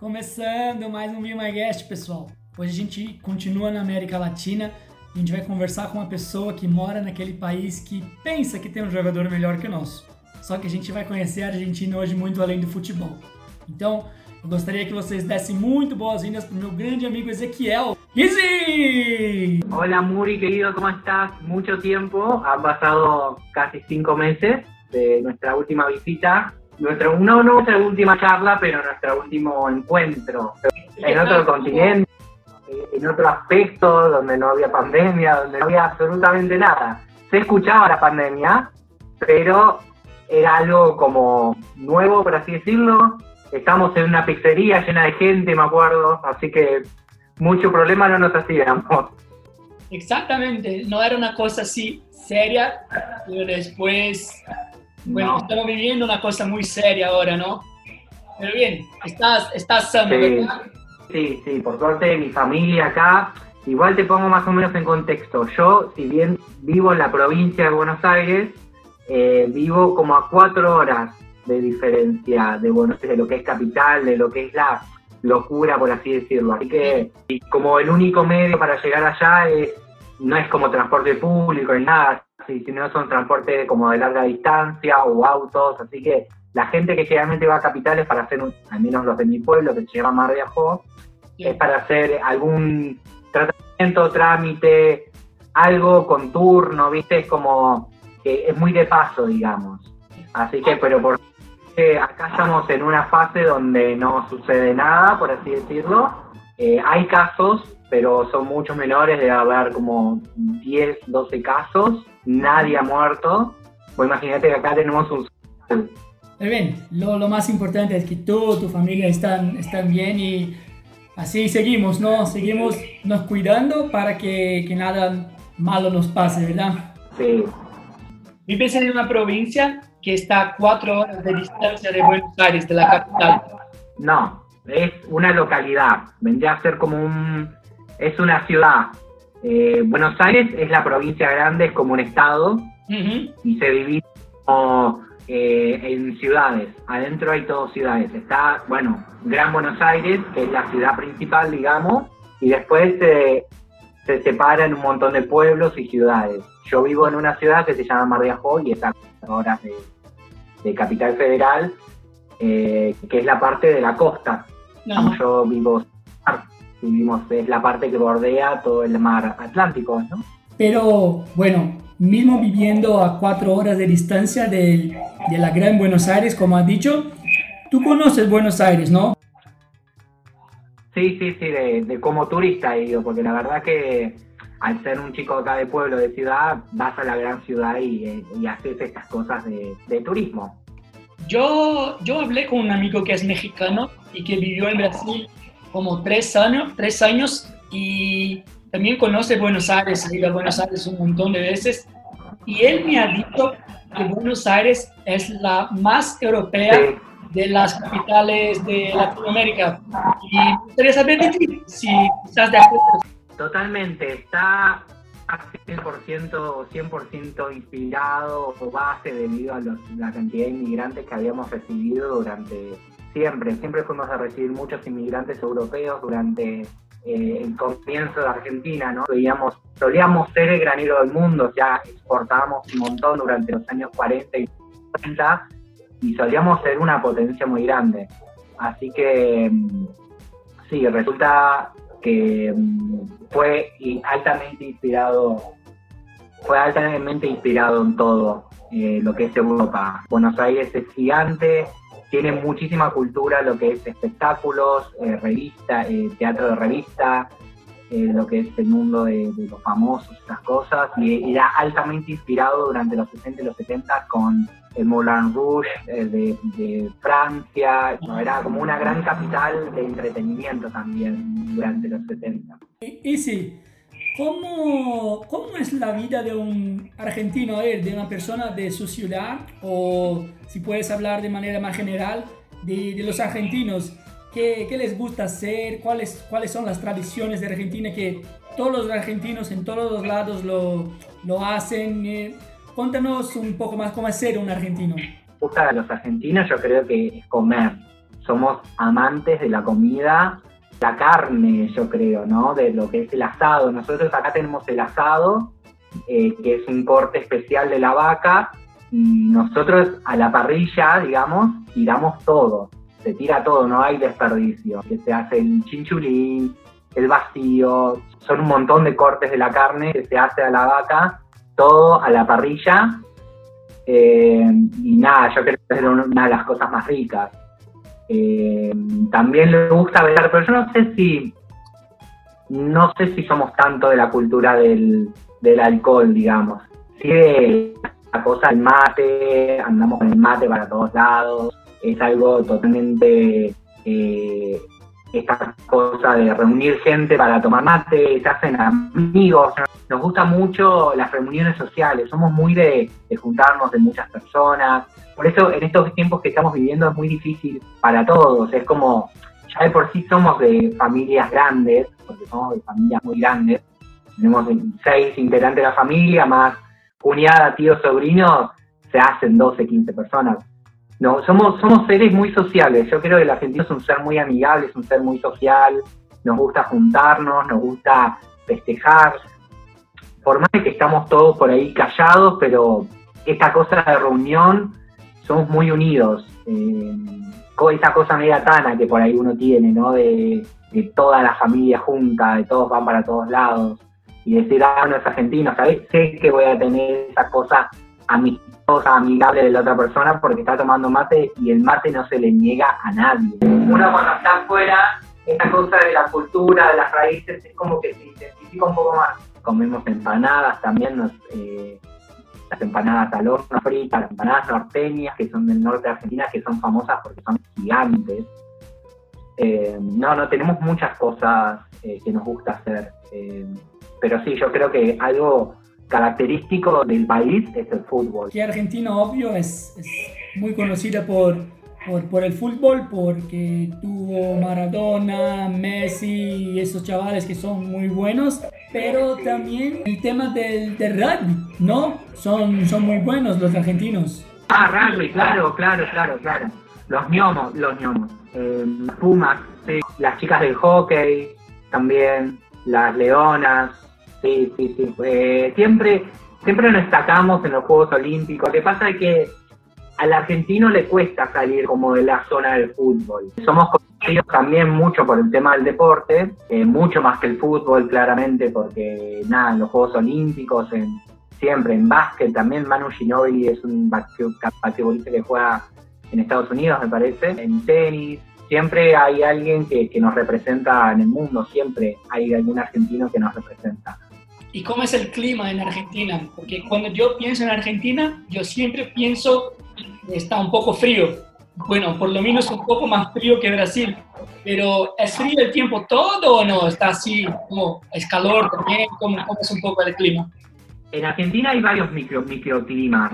Começando mais um Be My Guest, pessoal. Hoje a gente continua na América Latina e a gente vai conversar com uma pessoa que mora naquele país que pensa que tem um jogador melhor que o nosso. Só que a gente vai conhecer a Argentina hoje muito além do futebol. Então, eu gostaria que vocês dessem muito boas-vindas para o meu grande amigo Ezequiel. Easy! Hola Muri, querido, ¿cómo estás? Mucho tiempo, han pasado casi 5 meses de nuestra última visita, no nuestra última charla, pero nuestro último encuentro en otro continente, en otro aspecto, donde no había pandemia, donde no había absolutamente nada. Se escuchaba la pandemia, pero era algo como nuevo, por así decirlo. Estamos en una pizzería llena de gente, me acuerdo, así que mucho problema no nos hacíamos. Exactamente, no era una cosa así seria, pero después, bueno, estamos viviendo una cosa muy seria ahora, ¿no? Pero bien, estás sano, Sí. ¿verdad? Sí, por suerte mi familia acá. Igual te pongo más o menos en contexto. Yo, si bien vivo en la provincia de Buenos Aires, vivo como a 4 horas de diferencia de Buenos Aires, de lo que es capital, de lo que es la locura, por así decirlo. Así que, y como el único medio para llegar allá no es como transporte público ni nada, sino son transporte como de larga distancia o autos. Así que la gente que generalmente va a capitales para hacer, al menos los de mi pueblo, que se llama Mar de Ajó, es para hacer algún tratamiento, trámite, algo con turno, ¿viste? Es como, es muy de paso, digamos. Así que, pero por acá estamos en una fase donde no sucede nada, por así decirlo. Hay casos, pero son mucho menores, debe haber como 10, 12 casos, nadie ha muerto. Pues imagínate que acá tenemos un... Pero bien, lo más importante es que tú, tu familia están bien y así seguimos, ¿no? Seguimos nos cuidando para que nada malo nos pase, ¿verdad? Sí. Vives en una provincia que está a 4 horas de distancia de Buenos Aires, de la capital. No, es una localidad, vendría a ser como es una ciudad. Buenos Aires es la provincia grande, es como un estado, y se divide como, en ciudades. Adentro hay todas ciudades. Está, bueno, Gran Buenos Aires, que es la ciudad principal, digamos, y después se separa en un montón de pueblos y ciudades. Yo vivo en una ciudad que se llama Mar de Ajó y está a 4 horas de Capital Federal, que es la parte de la costa. Ajá. Yo vivimos, es la parte que bordea todo el mar Atlántico, ¿no? Pero bueno, mismo viviendo a 4 horas de distancia de la Gran Buenos Aires, como has dicho, tú conoces Buenos Aires, ¿no? Sí, de como turista he ido, porque la verdad que al ser un chico acá de pueblo, de ciudad, vas a la gran ciudad y haces estas cosas de turismo. Yo hablé con un amigo que es mexicano y que vivió en Brasil como 3 años y también conoce Buenos Aires, ha ido a Buenos Aires un montón de veces y él me ha dicho que Buenos Aires es la más europea de las capitales de Latinoamérica. Y me gustaría saber de ti, si estás de acuerdo. Totalmente, está 100% inspirado o base debido a la cantidad de inmigrantes que habíamos recibido durante siempre fuimos a recibir muchos inmigrantes europeos durante el comienzo de Argentina, ¿no? Solíamos ser el granero del mundo, ya exportábamos un montón durante los años 40 y 50 y solíamos ser una potencia muy grande. Así que sí, resulta que fue altamente inspirado en todo lo que es Europa. Buenos Aires es gigante, tiene muchísima cultura, lo que es espectáculos, revista, teatro de revista, lo que es el mundo de los famosos, esas cosas, y era altamente inspirado durante los 60 y los 70 con el Moulin Rouge de Francia. Era como una gran capital de entretenimiento también durante los 70. Y sí, ¿cómo es la vida de un argentino, de una persona de su ciudad? O si puedes hablar de manera más general de los argentinos, ¿qué les gusta hacer? ¿Cuáles son las tradiciones de Argentina que todos los argentinos en todos los lados lo hacen? Cuéntanos un poco más cómo es ser un argentino. Gusta a los argentinos, yo creo que es comer. somos amantes de la comida, la carne, yo creo, ¿no? De lo que es el asado. Nosotros acá tenemos el asado, que es un corte especial de la vaca, y nosotros a la parrilla, digamos, tiramos todo. Se tira todo, no hay desperdicio. Que se hace el chinchulín, el vacío, son un montón de cortes de la carne que se hace a la vaca, todo a la parrilla. Y nada, yo creo que es una de las cosas más ricas. También le gusta beber, pero yo no sé si somos tanto de la cultura del alcohol, digamos. Sí, la cosa del mate, andamos con el mate para todos lados, es algo totalmente, esta cosa de reunir gente para tomar mate, se hacen amigos. Nos gustan mucho las reuniones sociales, somos muy de juntarnos de muchas personas. Por eso en estos tiempos que estamos viviendo es muy difícil para todos. Es como, ya de por sí somos de familias grandes, porque somos de familias muy grandes. Tenemos 6 integrantes de la familia, más cuñada, tío, sobrino, se hacen 12, 15 personas. No, somos seres muy sociales. Yo creo que el argentino es un ser muy amigable, es un ser muy social. Nos gusta juntarnos, nos gusta festejar. Por más que estamos todos por ahí callados, pero esta cosa de reunión, somos muy unidos. Esa cosa media tana que por ahí uno tiene, ¿no? De toda la familia junta, de todos van para todos lados. Y decir, no es argentino, ¿sabes? Sé que voy a tener esa cosa amistosa, amigable de la otra persona porque está tomando mate y el mate no se le niega a nadie. Uno cuando está afuera, esta cosa de la cultura, de las raíces, es como que se identifica un poco más. Comemos empanadas también, las empanadas al horno fritas, las empanadas norteñas, que son del norte de Argentina, que son famosas porque son gigantes. No, tenemos muchas cosas que nos gusta hacer. Pero sí, yo creo que algo característico del país es el fútbol. Que Argentina, obvio, es muy conocida por el fútbol, porque tuvo Maradona, Messi y esos chavales que son muy buenos, pero también el tema del rugby, ¿no? Son muy buenos los argentinos. Rugby, claro. Los ñomos. Las Pumas, sí. Las chicas del hockey, también. Las leonas, sí. Siempre nos destacamos en los Juegos Olímpicos. Lo que pasa es que al argentino le cuesta salir como de la zona del fútbol. Somos conocidos también mucho por el tema del deporte, mucho más que el fútbol, claramente, porque en los Juegos Olímpicos, siempre en básquet también. Manu Ginóbili es un basquetbolista que juega en Estados Unidos, me parece, en tenis. Siempre hay alguien que nos representa en el mundo, siempre hay algún argentino que nos representa. ¿Y cómo es el clima en Argentina? Porque cuando yo pienso en Argentina, yo siempre pienso que está un poco frío. Bueno, por lo menos un poco más frío que Brasil. Pero ¿es frío el tiempo todo o no? ¿Está así, como es calor también? ¿Cómo es un poco el clima? En Argentina hay varios microclimas.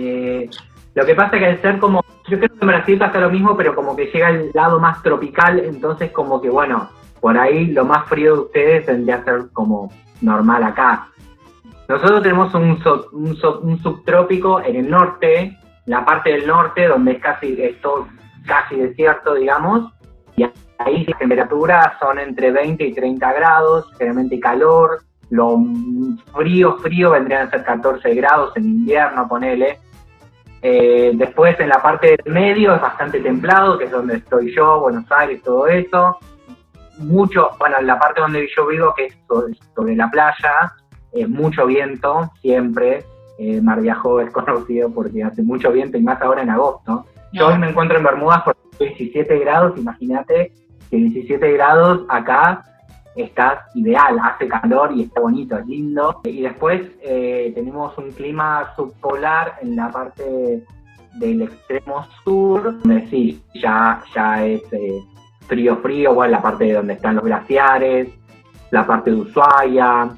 Lo que pasa es que al ser como, yo creo que en Brasil pasa lo mismo, pero como que llega al lado más tropical, entonces como que bueno, por ahí lo más frío de ustedes tendría que ser como normal acá. Nosotros tenemos un subtrópico en el norte, la parte del norte, donde es todo casi desierto, digamos, y ahí las temperaturas son entre 20 y 30 grados, generalmente calor. Lo frío vendrían a ser 14 grados en invierno, ponele. Después en la parte del medio es bastante templado, que es donde estoy yo, Buenos Aires, todo eso. En la parte donde yo vivo, que es sobre la playa, mucho viento, siempre. Mar de Ajó es conocido porque hace mucho viento y más ahora en agosto. Yo hoy me encuentro en Bermudas por 17 grados, imagínate que 17 grados acá estás ideal, hace calor y está bonito, es lindo. Y después tenemos un clima subpolar en la parte del extremo sur, donde sí, ya es frío, bueno, la parte de donde están los glaciares, la parte de Ushuaia,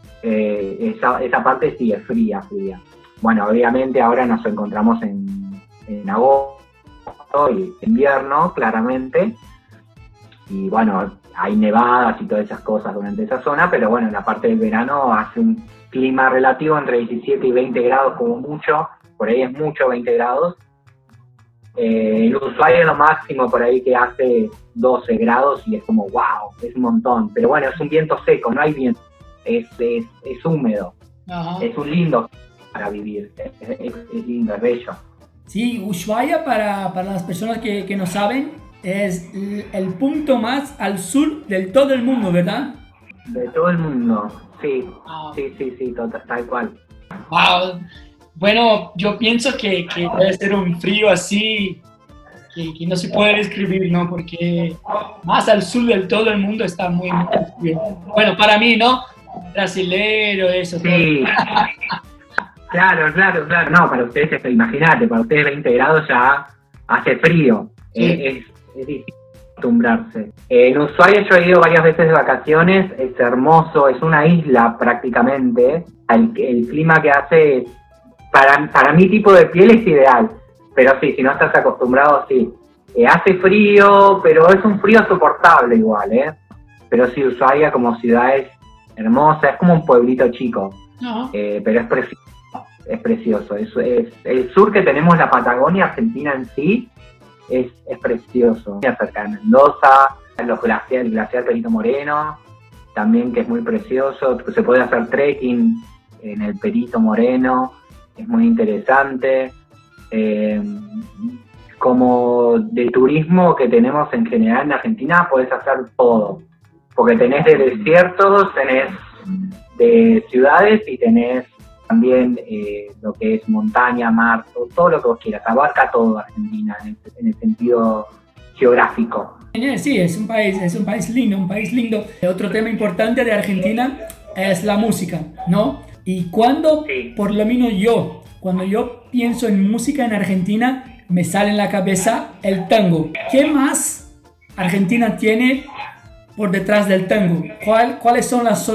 esa parte sí es fría. Bueno, obviamente ahora nos encontramos en agosto y invierno, claramente, y bueno, hay nevadas y todas esas cosas durante esa zona, pero bueno, en la parte del verano hace un clima relativo entre 17 y 20 grados como mucho, por ahí es mucho 20 grados, En Ushuaia lo máximo por ahí que hace 12 grados y es como wow, es un montón. Pero bueno, es un viento seco, no hay viento, es húmedo. Ajá. Es un lindo para vivir, es lindo, es bello. Sí, Ushuaia para las personas que no saben es el punto más al sur de todo el mundo, ¿verdad? De todo el mundo, sí, sí, tal cual. Wow. Bueno, yo pienso que debe ser un frío así que no se puede describir, ¿no? Porque más al sur de todo el mundo está muy frío. Bueno, para mí, ¿no? Brasilero, eso. Sí. Claro. No, para ustedes, imagínate, para ustedes 20 grados ya hace frío. Sí. Es difícil acostumbrarse. En Ushuaia yo he ido varias veces de vacaciones, es hermoso, es una isla prácticamente. El clima que hace es, para mi tipo de piel es ideal, pero sí, si no estás acostumbrado, sí. Hace frío, pero es un frío soportable igual, ¿eh? Pero sí, Ushuaia como ciudad es hermosa, es como un pueblito chico, pero es precioso. Es el sur que tenemos, la Patagonia Argentina en sí, es precioso. Cerca de Mendoza, el glaciar Perito Moreno, también que es muy precioso, se puede hacer trekking en el Perito Moreno, es muy interesante. Como de turismo que tenemos en general en Argentina, podés hacer todo, porque tenés de desiertos, tenés de ciudades y tenés también lo que es montaña, mar, todo lo que vos quieras, abarca todo Argentina en el sentido geográfico. Sí, es un país lindo. Otro tema importante de Argentina es la música, ¿no? Y por lo menos cuando yo pienso en música en Argentina, me sale en la cabeza el tango. ¿Qué más Argentina tiene por detrás del tango? ¿Cuáles son los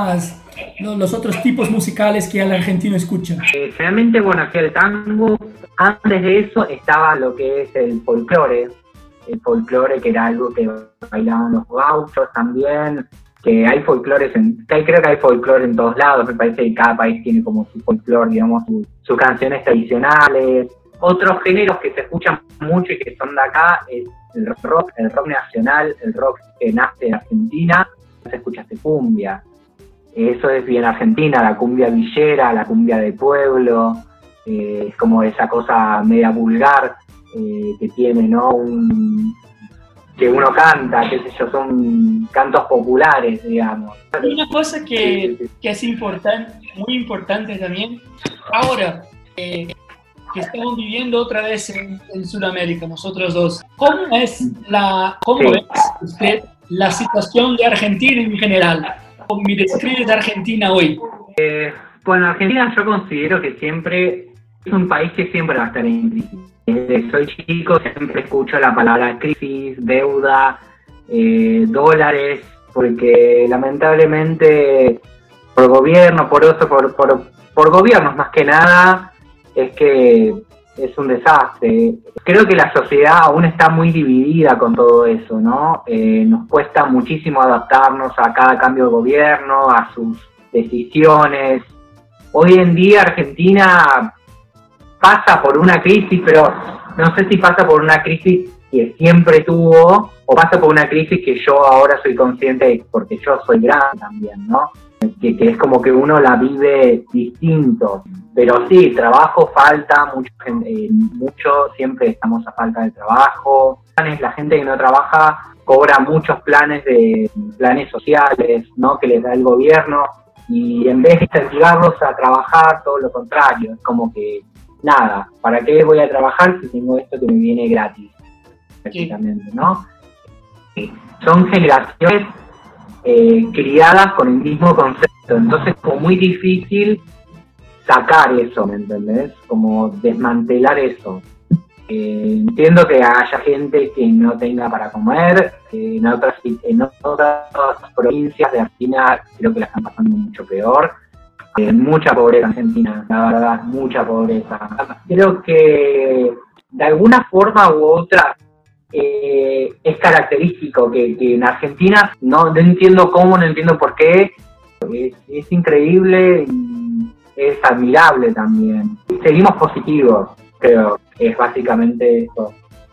otros tipos musicales que el argentino escucha? Realmente, bueno, aquí el tango, antes de eso estaba lo que es el folclore que era algo que bailaban los gauchos también, que hay folclores, creo que hay folclore en todos lados, me parece que cada país tiene como su folclore, digamos, sus canciones tradicionales. Otros géneros que se escuchan mucho y que son de acá es el rock nacional, el rock que nace en Argentina, se escucha cumbia. Eso es bien argentina, la cumbia villera, la cumbia de pueblo, es como esa cosa media vulgar que tiene, ¿no? Que uno canta, qué sé yo, son cantos populares, digamos. Hay una cosa que es muy importante también, ahora que estamos viviendo otra vez en Sudamérica, nosotros dos. ¿Cómo ves usted la situación de Argentina en general? ¿Cómo me describes de Argentina hoy? Bueno, Argentina yo considero que siempre es un país que siempre va a estar en crisis. Desde soy chico siempre escucho la palabra crisis, deuda, dólares, porque lamentablemente por gobierno, por gobiernos más que nada, es que es un desastre. Creo que la sociedad aún está muy dividida con todo eso, ¿no? Nos cuesta muchísimo adaptarnos a cada cambio de gobierno, a sus decisiones. Hoy en día Argentina pasa por una crisis, pero no sé si pasa por una crisis que siempre tuvo o pasa por una crisis que yo ahora soy consciente de, porque yo soy grande también, ¿no? Que es como que uno la vive distinto. Pero sí, trabajo falta, mucho, siempre estamos a falta de trabajo. La gente que no trabaja cobra muchos planes sociales, ¿no? Que les da el gobierno, y en vez de incentivarlos a trabajar, todo lo contrario, es como que nada, ¿para qué voy a trabajar si tengo esto que me viene gratis? Prácticamente, ¿no? Son generaciones criadas con el mismo concepto, entonces es como muy difícil sacar eso, ¿me entendés? Como desmantelar eso. Entiendo que haya gente que no tenga para comer, en otras provincias de Argentina creo que la están pasando mucho peor. Mucha pobreza en Argentina, la verdad, mucha pobreza. Creo que de alguna forma u otra es característico que en Argentina, no entiendo cómo, no entiendo por qué, es increíble y es admirable también. Seguimos positivos, creo. es básicamente eso.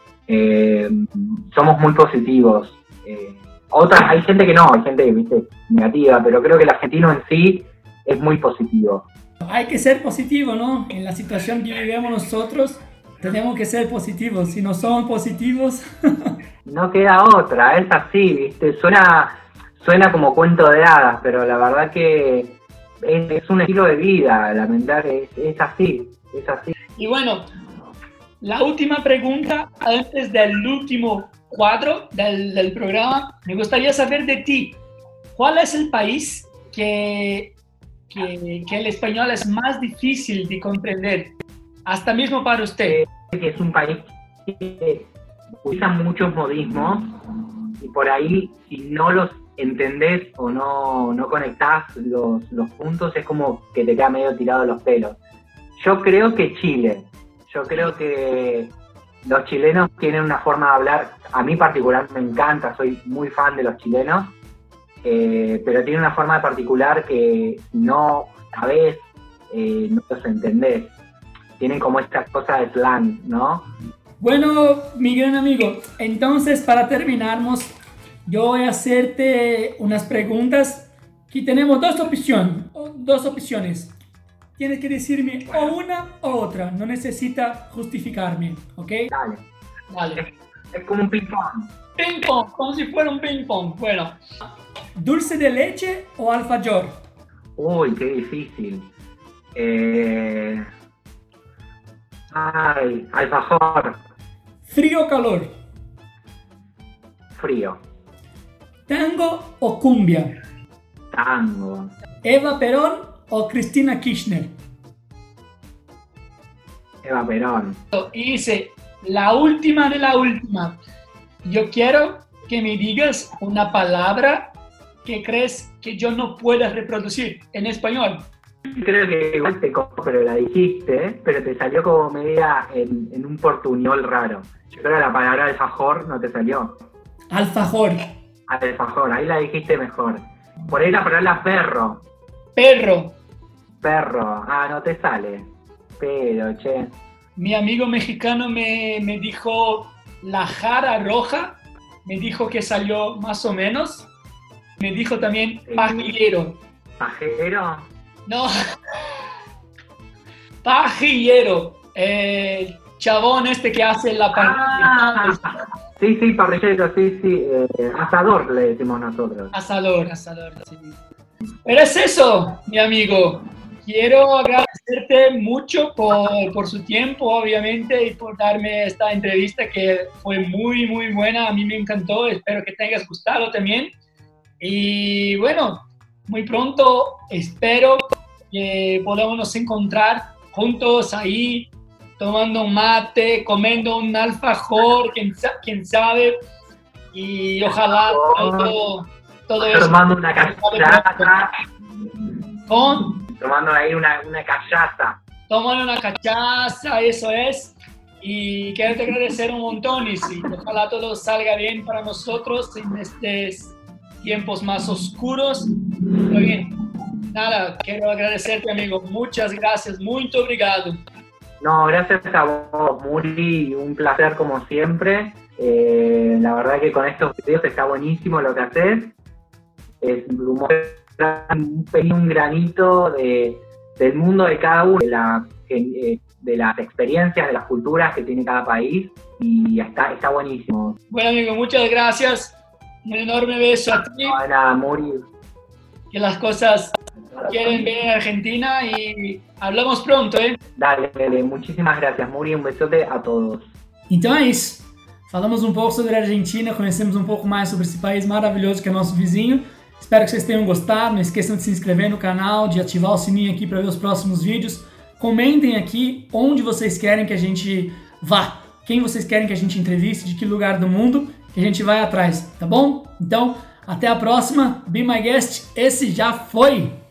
Somos muy positivos. Hay gente que no, hay gente, viste, negativa, pero creo que el argentino en sí es muy positivo. Hay que ser positivo, ¿no? En la situación que vivimos nosotros, tenemos que ser positivos. Si no somos positivos... No queda otra, es así, viste, suena como cuento de hadas, pero la verdad que es un estilo de vida, lamentablemente es así, es así. Y bueno, la última pregunta antes del último cuadro del programa, me gustaría saber de ti, ¿cuál es el país que el español es más difícil de comprender, hasta mismo para usted? Es un país que usa muchos modismos y por ahí, si no los entendés o no conectás los puntos, es como que te queda medio tirado los pelos. Yo creo que Chile, yo creo que los chilenos tienen una forma de hablar, a mí particular me encanta, soy muy fan de los chilenos, pero tienen una forma particular que no sabés, no los entendés. Tienen como esta cosa de slang, ¿no? Bueno, mi gran amigo, entonces para terminarnos, yo voy a hacerte unas preguntas. Aquí tenemos dos opciones. Tienes que decirme o una o otra, no necesita justificarme, ¿ok? Dale. Es como un ping-pong. Ping-pong, como si fuera un ping-pong. Bueno, ¿dulce de leche o alfajor? Uy, qué difícil. Alfajor. ¿Frío o calor? Frío. ¿Tango o cumbia? Tango. ¿Eva Perón o Cristina Kirchner? Eva Perón. Y dice, la última de la última. Yo quiero que me digas una palabra que crees que yo no pueda reproducir en español. Creo que igual te cojo, pero la dijiste, pero te salió como media en un portuñol raro. Yo creo que la palabra alfajor no te salió. Alfajor. Alfajor, ahí la dijiste mejor. Por ahí la palabra perro. Perro. Perro, no te sale. Pero, che. Mi amigo mexicano me dijo la jara roja, me dijo que salió más o menos. Me dijo también pajillero. ¿Pajero? No. Pajillero. Chabón este que hace la parrilla. Sí, parrillero, sí. Asador le decimos nosotros. Asador, sí. Pero es eso, mi amigo. Quiero agradecerte mucho por su tiempo, obviamente, y por darme esta entrevista que fue muy, muy buena. A mí me encantó. Espero que te hayas gustado también. Y bueno, muy pronto espero que podamos nos encontrar juntos ahí, tomando un mate, comiendo un alfajor, quién sabe, y ojalá todo eso. Tomando una cachaza. Tomando ahí una cachaza. Tomando una cachaza, eso es. Y quiero te agradecer un montón y sí, ojalá todo salga bien para nosotros en estos tiempos más oscuros. Muy bien. Nada, quiero agradecerte, amigo. Muchas gracias. Muy obrigado. No, gracias a vos, Muri. Un placer como siempre. La verdad que con estos videos está buenísimo lo que haces. Es un granito del mundo de cada uno, de las experiencias, de las culturas que tiene cada país. Y está buenísimo. Bueno, amigo, muchas gracias. Un enorme beso a ti. Nada, Muri. Que las cosas quieren ver en Argentina y hablamos pronto, ¿eh? Dale, muchísimas gracias, Muri. Um besote a todos. Então é isso. Falamos um pouco sobre a Argentina, conhecemos um pouco mais sobre esse país maravilhoso que é nosso vizinho. Espero que vocês tenham gostado. Não esqueçam de se inscrever no canal, de ativar o sininho aqui para ver os próximos vídeos. Comentem aqui onde vocês querem que a gente vá, quem vocês querem que a gente entreviste, de que lugar do mundo, que a gente vai atrás, tá bom? Então, até a próxima. Be My Guest, esse já foi!